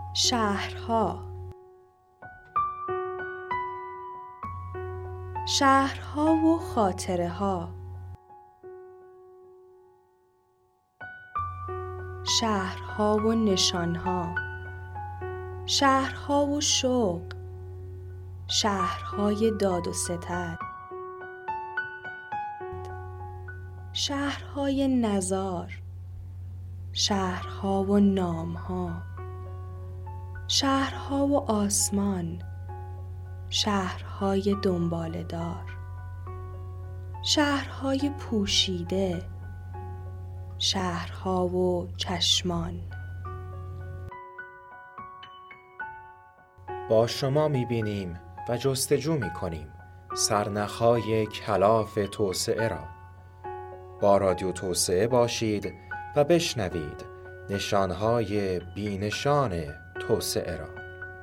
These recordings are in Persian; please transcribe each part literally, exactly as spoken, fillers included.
شهرها. شهرها و خاطره ها. شهرها و نشانها. شهرها و شوق. شهرهای داد و ستد. شهرهای نزار. شهرها و نامها. شهرها و آسمان. شهرهای دنباله‌دار. شهرهای پوشیده. شهرها و چشمان. با شما می‌بینیم و جستجو می‌کنیم سرنخ‌های کلاف توسعه را. با رادیو توسعه باشید و بشنوید نشانهای بی‌نشان توسعه را.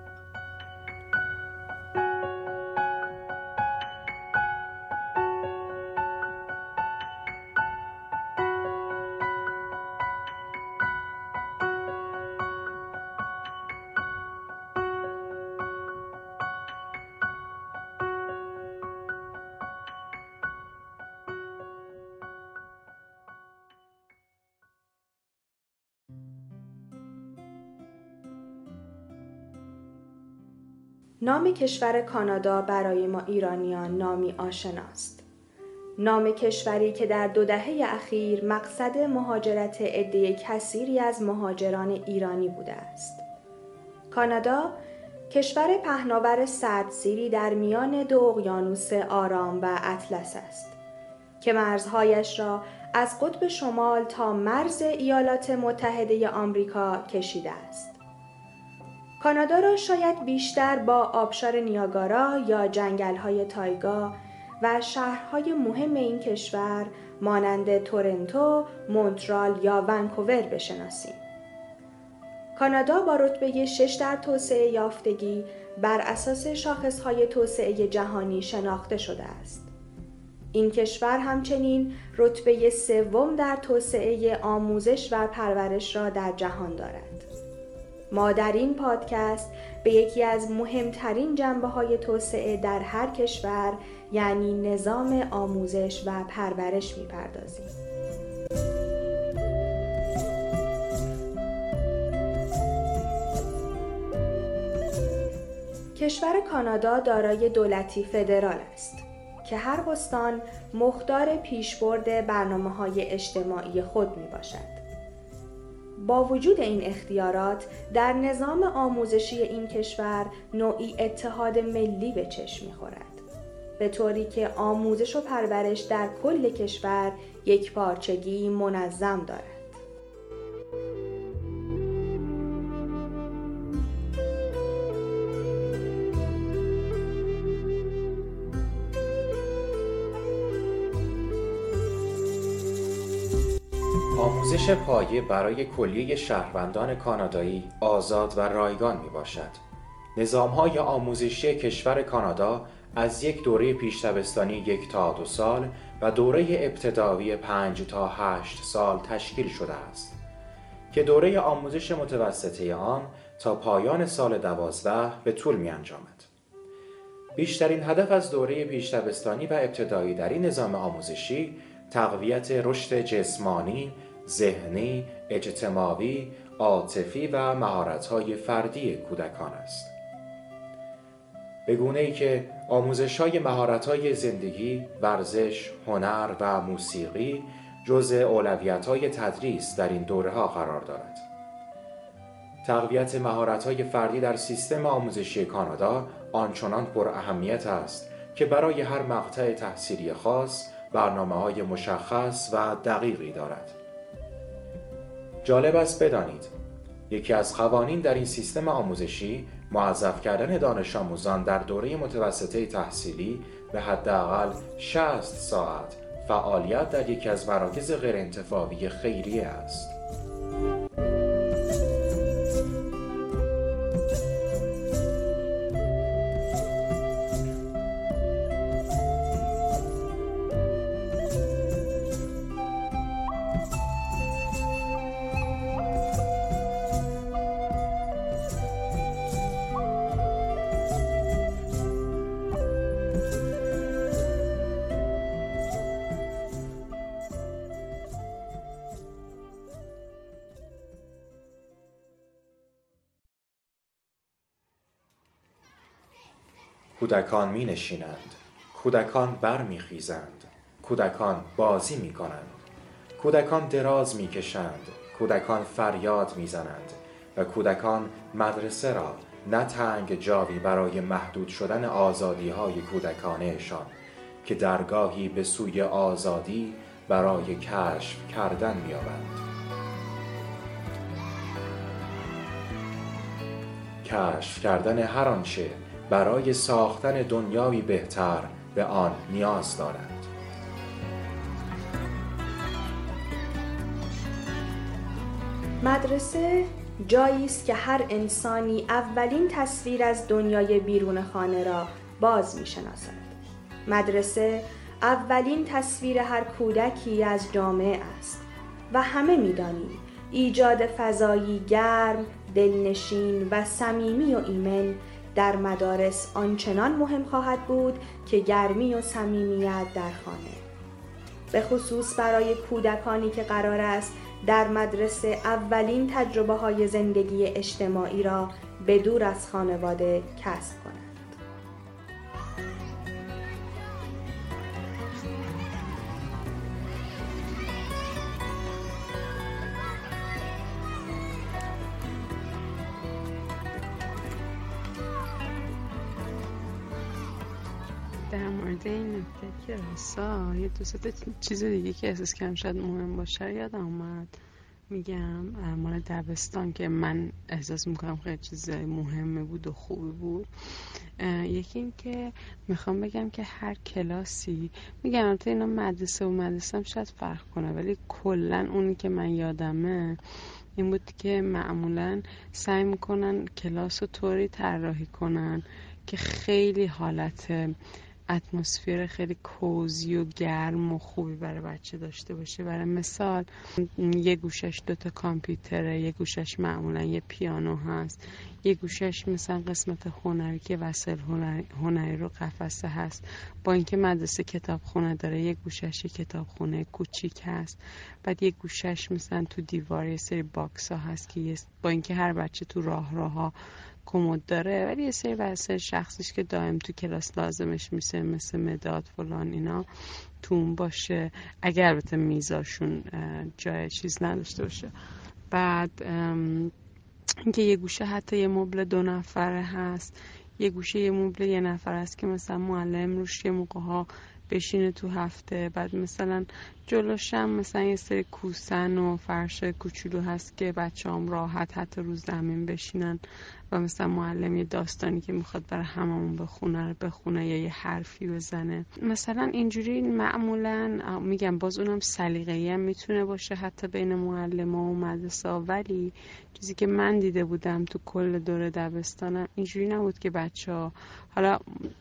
نام کشور کانادا برای ما ایرانیان نامی آشناست. نام کشوری که در دو دهه اخیر مقصد مهاجرت عده کثیری از مهاجران ایرانی بوده است. کانادا کشور پهناور سردسیری در میان دو اقیانوس آرام و اطلس است که مرزهایش را از قطب شمال تا مرز ایالات متحده آمریکا کشیده است. کانادا را شاید بیشتر با آبشار نیاگارا یا جنگل‌های تایگا و شهرهای مهم این کشور مانند تورنتو، مونترال یا ونکوور بشناسیم. کانادا با رتبه شش در توسعه یافتگی بر اساس شاخصهای توسعه جهانی شناخته شده است. این کشور همچنین رتبه سوم در توسعه آموزش و پرورش را در جهان دارد. ما در این پادکست به یکی از مهمترین جنبه‌های توسعه در هر کشور یعنی نظام آموزش و پرورش می‌پردازیم. کشور کانادا دارای دولتی فدرال است که هر استان مختار پیشبرد برنامه‌های اجتماعی خود می‌باشد. با وجود این اختیارات، در نظام آموزشی این کشور نوعی اتحاد ملی به چشم می‌خورد، به طوری که آموزش و پرورش در کل کشور یک پارچگی منظم دارد. آموزش پایه برای کلیه شهروندان کانادایی آزاد و رایگان می باشد. نظام‌های آموزشی کشور کانادا از یک دوره پیش دبستانی یک تا دو سال و دوره ابتدایی پنج تا هشت سال تشکیل شده است که دوره آموزش متوسطه آن تا پایان سال دوازده به طول می انجامد. بیشترین هدف از دوره پیش دبستانی و ابتدایی در این نظام آموزشی تقویت رشد جسمانی، ذهنی، اجتماعی، عاطفی و مهارت‌های فردی کودکان است. به گونه‌ای که آموزش‌های مهارت‌های زندگی، ورزش، هنر و موسیقی جزء اولویت‌های تدریس در این دوره‌ها قرار دارد. تقویت مهارت‌های فردی در سیستم آموزشی کانادا آنچنان پر اهمیت است که برای هر مقطع تحصیلی خاص برنامه‌های مشخص و دقیقی دارد. جالب است بدانید یکی از قوانین در این سیستم آموزشی موظف کردن دانش آموزان در دوره متوسطه تحصیلی به حداقل شصت ساعت فعالیت در یکی از مراکز غیرانتفاعی خیریه است. کودکان می نشینند، کودکان بر می خیزند، کودکان بازی می کنند، کودکان دراز می کشند، کودکان فریاد می زنند و کودکان مدرسه را نه تنگ جاوی برای محدود شدن آزادی های کودکانهشان که درگاهی به سوی آزادی برای کشف کردن می آورند. کشف کردن هر آنچه برای ساختن دنیایی بهتر به آن نیاز دارند. مدرسه جایی است که هر انسانی اولین تصویر از دنیای بیرون خانه را باز می‌شناسد. مدرسه اولین تصویر هر کودکی از جامعه است و همه می‌دانیم ایجاد فضایی گرم، دلنشین و صمیمی و ایمن در مدارس آنچنان مهم خواهد بود که گرمی و صمیمیت در خانه. به خصوص برای کودکانی که قرار است در مدرسه اولین تجربه های زندگی اجتماعی را به دور از خانواده کسب کنند. در مورد این نکته که راستا یه دو سه چیز دیگه که احساس کردم شاید مهم باشه یادم اومد. میگم مال دبستان که من احساس میکنم خیلی چیز مهمه بود و خوبی بود. یکی این که میخوام بگم که هر کلاسی، میگم البته اینا مدرسه و مدرسه هم شاید فرق کنه، ولی کلن اونی که من یادمه این بود که معمولا سعی میکنن کلاس رو طوری طراحی کنن که خیلی حالت اتمسفر خیلی کوزی و گرم و خوبی برای بچه داشته باشه. برای مثال یه گوشش دوتا کامپیوتره، یه گوشش معمولا یه پیانو هست، یه گوشش مثلا قسمت هنری که وسایل هنری, هنری رو قفسه هست. با اینکه مدرسه کتابخونه داره یه گوشش یه کتابخونه کوچیک هست، بعد یه گوشش مثلا تو دیوار یه سری باکس ها هست که با اینکه هر بچه تو راه راه ها کمد داره ولی یه سری وسایل شخصیش که دائم تو کلاس لازمش میشه مثل مداد فلان اینا تو اون باشه، اگر البته میزاشون جای چیز نداشته باشه. بعد اینکه یه گوشه حتی یه مبل دو نفره هست، یه گوشه یه مبل یه نفر هست که مثلا معلم روش یه موقع ها بشینه تو هفته. بعد مثلا جلوش هم مثلا یه سری کوسن و فرش کوچولو هست که بچه هم راحت حتی رو زمین بشینن و مثلا معلم یه داستانی که میخواد برای هممون بخونه بخونه یا یه حرفی بزنه. مثلا اینجوری معمولا میگم باز اونم سلیقه‌ای هم میتونه باشه حتی بین معلم‌ها و مدرسه، ولی چیزی که من دیده بودم تو کل دوره دبستانم اینجوری نبود که بچه‌ها حالا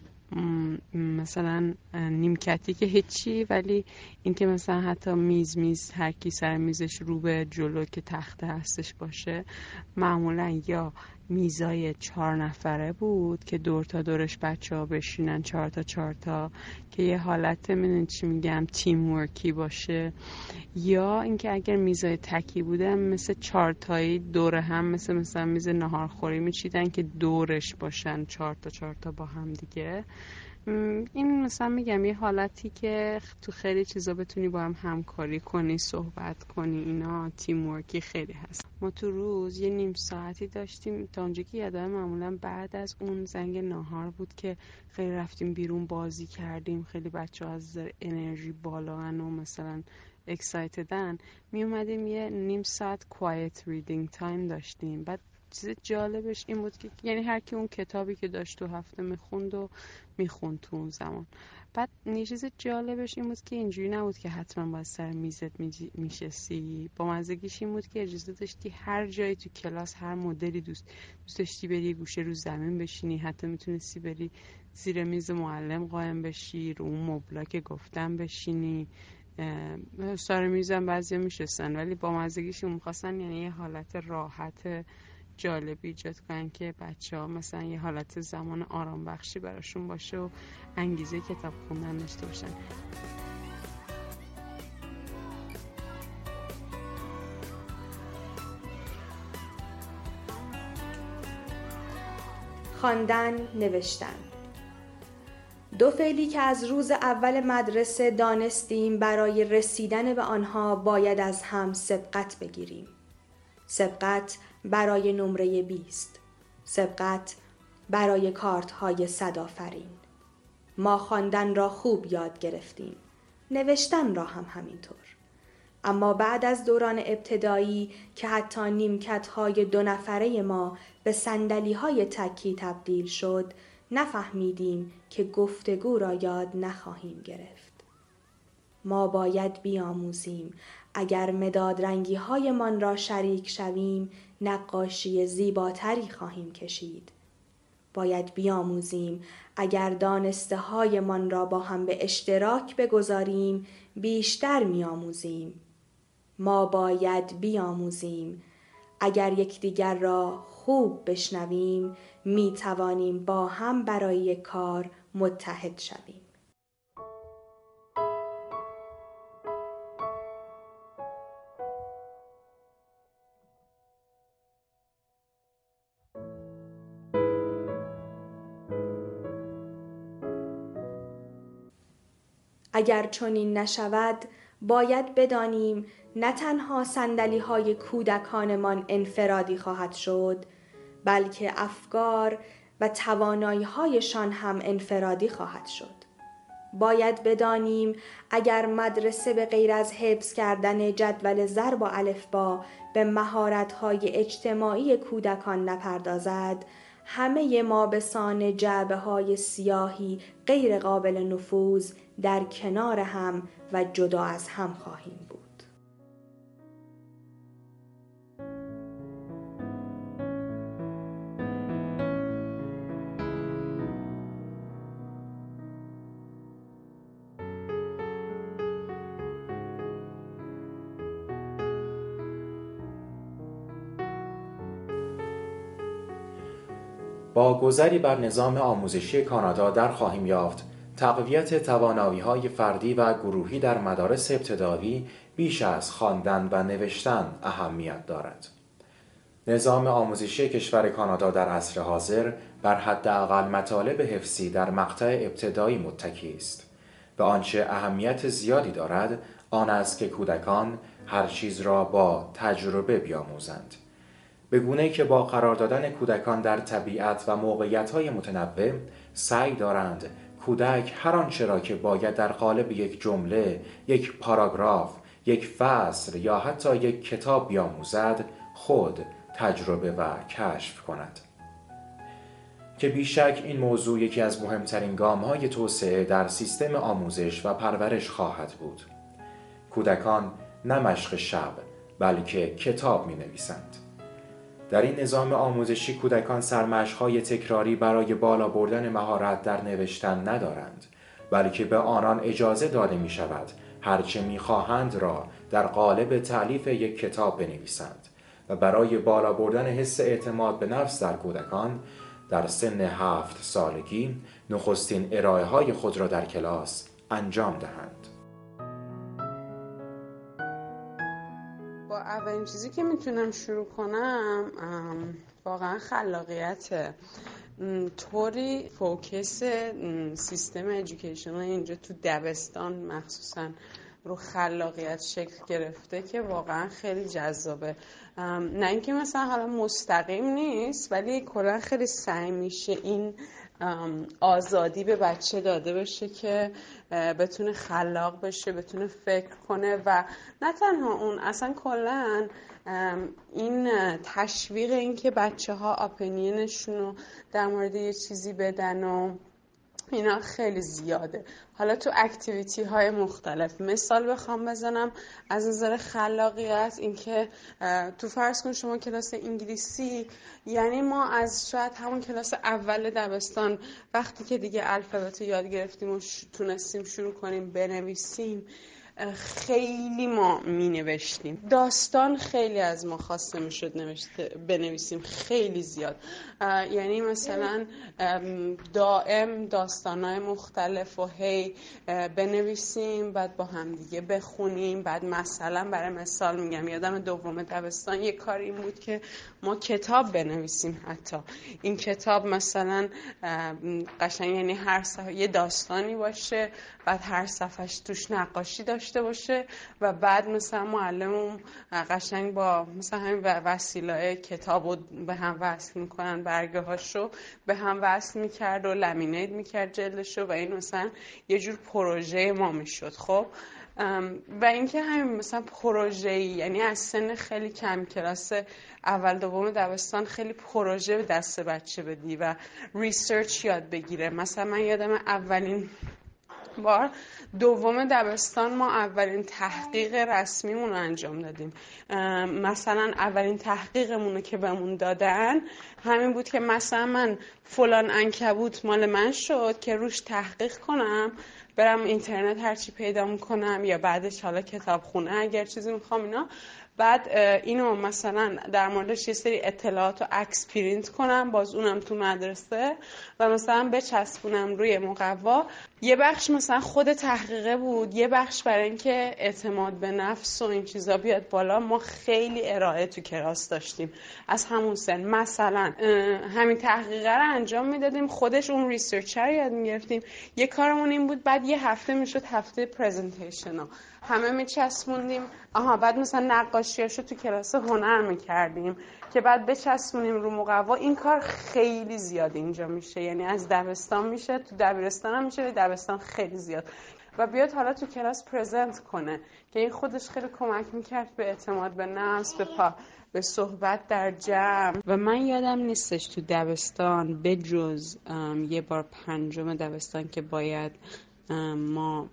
مثلا نیمکتی که هیچی، ولی اینکه مثلا حتی میز میز هر کی سر میزش رو به جلو که تخته هستش باشه، معمولا یا میزای چهار نفره بود که دور تا دورش بچه ها بشینن چهار تا چهار تا که یه حالت میدونی چی میگم تیم ورکی باشه، یا اینکه اگر میزای تکی بوده مثل چهار تایی دور هم مثل مثلا میز ناهارخوری میچیدن که دورش باشن چهار تا چهار تا با هم دیگه. این مثلا میگم یه حالتی که تو خیلی چیزا بتونی با هم همکاری کنی، صحبت کنی، اینا تیم ورکی خیلی هست. ما تو روز یه نیم ساعتی داشتیم تا اونجا که یادم معمولا بعد از اون زنگ ناهار بود که خیلی رفتیم بیرون بازی کردیم، خیلی بچه‌ها از انرژی بالا هن و مثلا اکسایتدن، می اومدیم یه نیم ساعت کوایت ریدینگ تایم داشتیم. بعد چیز جالبش این بود که یعنی هر کی اون کتابی که داشت تو هفته میخوند و میخوند تو اون زمان. بعد یه چیز جالبش این بود که اینجوری نبود که حتما باید سر میزت میشستی، با مزگیش این بود که اجازه داشتی هر جایی تو کلاس هر مدلی دوست دوست داشتی بری گوشه رو زمین بشینی، حتی میتونستی بری زیر میز معلم قایم بشی، رو اون مبلا که گفتم بشینی، سر میزم بعضیا میشستن ولی با مزگیش اون میخواستن یعنی یه حالت راحت جالبی ایجاد کنن که بچه ها مثلا یه حالت زمان آرام بخشی براشون باشه و انگیزه کتاب خوندن داشته باشن. خواندن، نوشتن. دو فعلی که از روز اول مدرسه دانستیم برای رسیدن به آنها باید از هم سبقت بگیریم. سبقت برای نمره بیست. سبقت برای کارت های صدآفرین. ما خواندن را خوب یاد گرفتیم. نوشتن را هم همینطور. اما بعد از دوران ابتدایی که حتی نیمکت های دو نفره ما به صندلی های تکی تبدیل شد، نفهمیدیم که گفتگو را یاد نخواهیم گرفت. ما باید بیاموزیم اگر مداد رنگی های من را شریک شویم، نقاشی زیباتری خواهیم کشید. باید بیاموزیم اگر دانسته های من را با هم به اشتراک بگذاریم، بیشتر میاموزیم. ما باید بیاموزیم اگر یکدیگر را خوب بشنویم، می توانیم با هم برای یک کار متحد شویم. اگر چنین نشود، باید بدانیم نه تنها صندلی های کودکانمان انفرادی خواهد شد، بلکه افکار و توانایی هایشان هم انفرادی خواهد شد. باید بدانیم اگر مدرسه به غیر از حفظ کردن جدول ضرب و الفبا به مهارت های اجتماعی کودکان نپردازد، همه ما به سان جعبه های سیاهی غیر قابل نفوذ در کنار هم و جدا از هم خواهیم بود. با گذری بر نظام آموزشی کانادا در خواهیم یافت تقویت توانایی‌های فردی و گروهی در مدارس ابتدایی بیش از خواندن و نوشتن اهمیت دارد. نظام آموزشی کشور کانادا در عصر حاضر بر حداقل مطالب حفظی در مقطع ابتدایی متکی است و آنچه اهمیت زیادی دارد آن است که کودکان هر چیز را با تجربه بیاموزند، به گونه‌ای که با قرار دادن کودکان در طبیعت و موقعیت‌های متنوع سعی دارند کودک هر آنچه را که باید در قالب یک جمله، یک پاراگراف، یک فصل یا حتی یک کتاب بیاموزد خود تجربه و کشف کند. که بیشک این موضوع یکی از مهمترین گام‌های توسعه در سیستم آموزش و پرورش خواهد بود. کودکان نه مشق شب بلکه کتاب می‌نویسند. در این نظام آموزشی کودکان سرمشق‌های تکراری برای بالا بردن مهارت در نوشتن ندارند، بلکه به آنان اجازه داده می شود هرچه می خواهند را در قالب تألیف یک کتاب بنویسند و برای بالا بردن حس اعتماد به نفس در کودکان در سن هفت سالگی نخستین ارائه‌های خود را در کلاس انجام دهند. اولین چیزی که میتونم شروع کنم واقعا خلاقیته. طوری فوکس سیستم ادویکیشنال اینجا تو دبستان مخصوصا رو خلاقیت شکل گرفته که واقعا خیلی جذابه. نه اینکه مثلا حالا مستقیم نیست، ولی کلا خیلی سعی میشه این آزادی به بچه داده بشه که بتونه خلاق بشه، بتونه فکر کنه و نه تنها اون، اصلا کلا این تشویق این که بچه ها اپینینشون رو در مورد یه چیزی بدن و اینا خیلی زیاده. حالا تو اکتیویتی های مختلف مثال بخوام بزنم از نظر خلاقیت، این که تو فرض کن شما کلاس انگلیسی، یعنی ما از شاید همون کلاس اول دبستان وقتی که دیگه الفبت یاد گرفتیم و تونستیم شروع کنیم بنویسیم، خیلی ما می نوشتیم. داستان خیلی از ما خواسته می شد نوشته بنویسیم، خیلی زیاد. یعنی مثلا دائم داستانهای مختلف و هی بنویسیم، بعد با هم دیگه بخونیم. بعد مثلا برای مثال میگم یادم دوم دبستان یک کار این بود که ما کتاب بنویسیم. حتی این کتاب مثلا قشنگ یعنی هر صفحه یه داستانی باشه، بعد هر صفحهش توش نقاشی داشته باشه و بعد مثلا معلمم قشنگ با مثلا همین وسیله کتابو به هم وصل میکنن، برگه هاشو به هم وصل میکرد و لامینیت میکرد جلدشو و این مثلا یه جور پروژه ما میشد. خب و اینکه همین مثلا پروژه‌ای، یعنی از سن خیلی کم، کلاس اول دوم دبستان، خیلی پروژه به دست بچه بدی و ریسرچ یاد بگیره. مثلا من یادم اولین بار دوم دبستان ما اولین تحقیق رسمیمون رو انجام دادیم. مثلا اولین تحقیقمون که بهمون دادن همین بود که مثلا من فلان عنکبوت مال من شد که روش تحقیق کنم، برم اینترنت هرچی پیدا میکنم یا بعدش حالا کتابخونه اگر چیزی میخوام اینا، بعد اینو مثلا در موردش یه سری اطلاعات و عکس پرینت کنم، باز اونم تو مدرسه و مثلا بچسبونم روی مقوا. یه بخش مثلا خود تحقیقه بود، یه بخش برای اینکه اعتماد به نفس و این چیزا بیاد بالا. ما خیلی ارائه تو کلاس داشتیم از همون سن. مثلا همین تحقیقه رو انجام میدادیم، خودش اون ریسرچر یاد میگرفتیم. یه کارمون این بود بعد یه هفته میشد هفته پرزنتیشن ها همه میچسبوندیم. آها بعد مثلا نقاشیاشو تو کلاس هنر میکردیم که بعد بچسبونیم رو مقوا. این کار خیلی زیاد اینجا میشه، یعنی از دبستان میشه، تو دبیرستان هم میشه، دبستان خیلی زیاد. و بیاد حالا تو کلاس پرزنت کنه که این خودش خیلی کمک میکرد به اعتماد به نفس، به پا به صحبت در جمع. و من یادم نیستش تو دبستان به جز یه بار پنجم دبستان که باید ما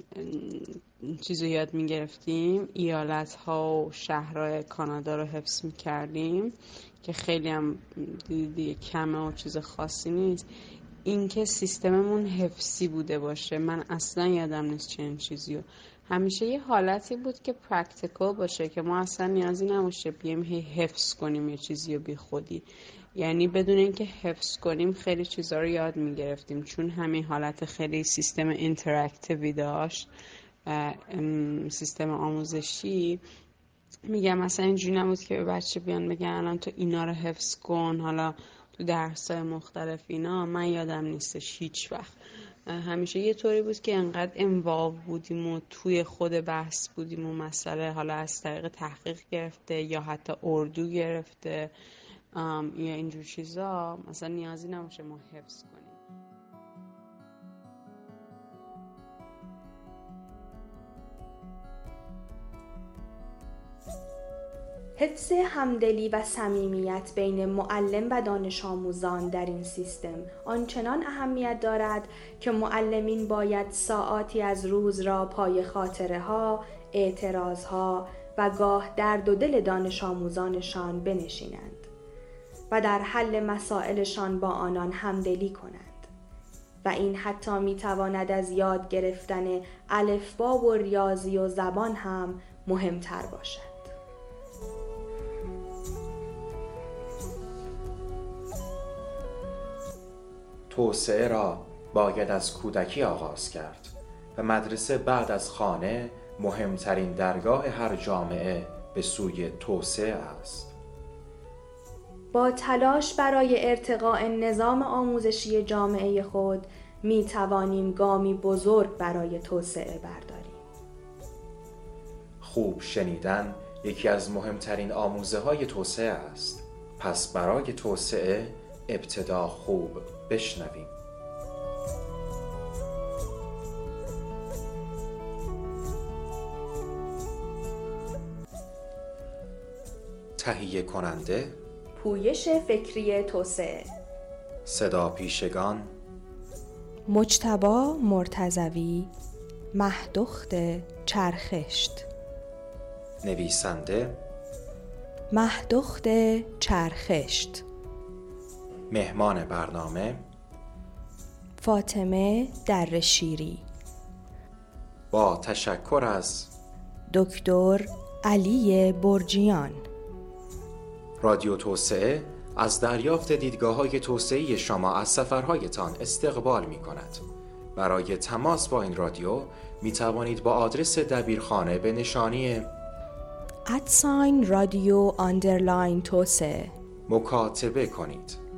چیزو یاد میگرفتیم، ایالت ها و شهرهای کانادا رو حفظ میکردیم که خیلی هم دیگه کمه و چیز خاصی نیست. این که سیستممون حفظی بوده باشه من اصلا یادم نیست چنین چیزیو. همیشه یه حالتی بود که پرکتیکال باشه که ما اصلا نیازی نباشه بیایم هی حفظ کنیم یه چیزی رو بی خودی. یعنی بدون اینکه حفظ کنیم خیلی چیزا رو یاد میگرفتیم، چون همین حالت خیلی سیستم اینتراکتیوی داشت. سیستم آموزشی میگم مثلا اینجوری نبود که به بچه بیان بگن الان تو اینا رو حفظ کن حالا تو درس‌های مختلف اینا. من یادم نیستش هیچ وقت. همیشه یه طوری بود که انقدر انوالو بودیم و توی خود بحث بودیم و مسئله حالا از طریق تحقیق گرفته یا حتی اردو گرفته یا اینجور چیزا، مثلا نیازی نباشه ما حفظ کنیم. حفظ همدلی و صمیمیت بین معلم و دانش آموزان در این سیستم آنچنان اهمیت دارد که معلمین باید ساعاتی از روز را پای خاطره ها، اعتراض ها و گاه درد و دل دانش آموزانشان بنشینند و در حل مسائلشان با آنان همدلی کنند. و این حتی می تواند از یاد گرفتن الفبا و ریاضی و زبان هم مهمتر باشد. توسعه را باید از کودکی آغاز کرد و مدرسه بعد از خانه مهمترین درگاه هر جامعه به سوی توسعه است. با تلاش برای ارتقاء نظام آموزشی جامعه خود می توانیم گامی بزرگ برای توسعه برداریم. خوب شنیدن یکی از مهمترین آموزه های توسعه است. پس برای توسعه ابتدا خوب بشنویم. تهیه کننده پویش فکری توسعه، صدا پیشگان مجتبی مرتضوی، مهدخت چرخشت، نویسنده مهدخت چرخشت، مهمان برنامه فاطمه درشیری. با تشکر از دکتر علی برجیان. رادیو توسعه از دریافت دیدگاه‌های توسعه‌ای شما از سفرهایتان استقبال می‌کند. برای تماس با این رادیو می توانید با آدرس دبیرخانه به نشانی ادساین رادیو آندرلاین توسعه مکاتبه کنید.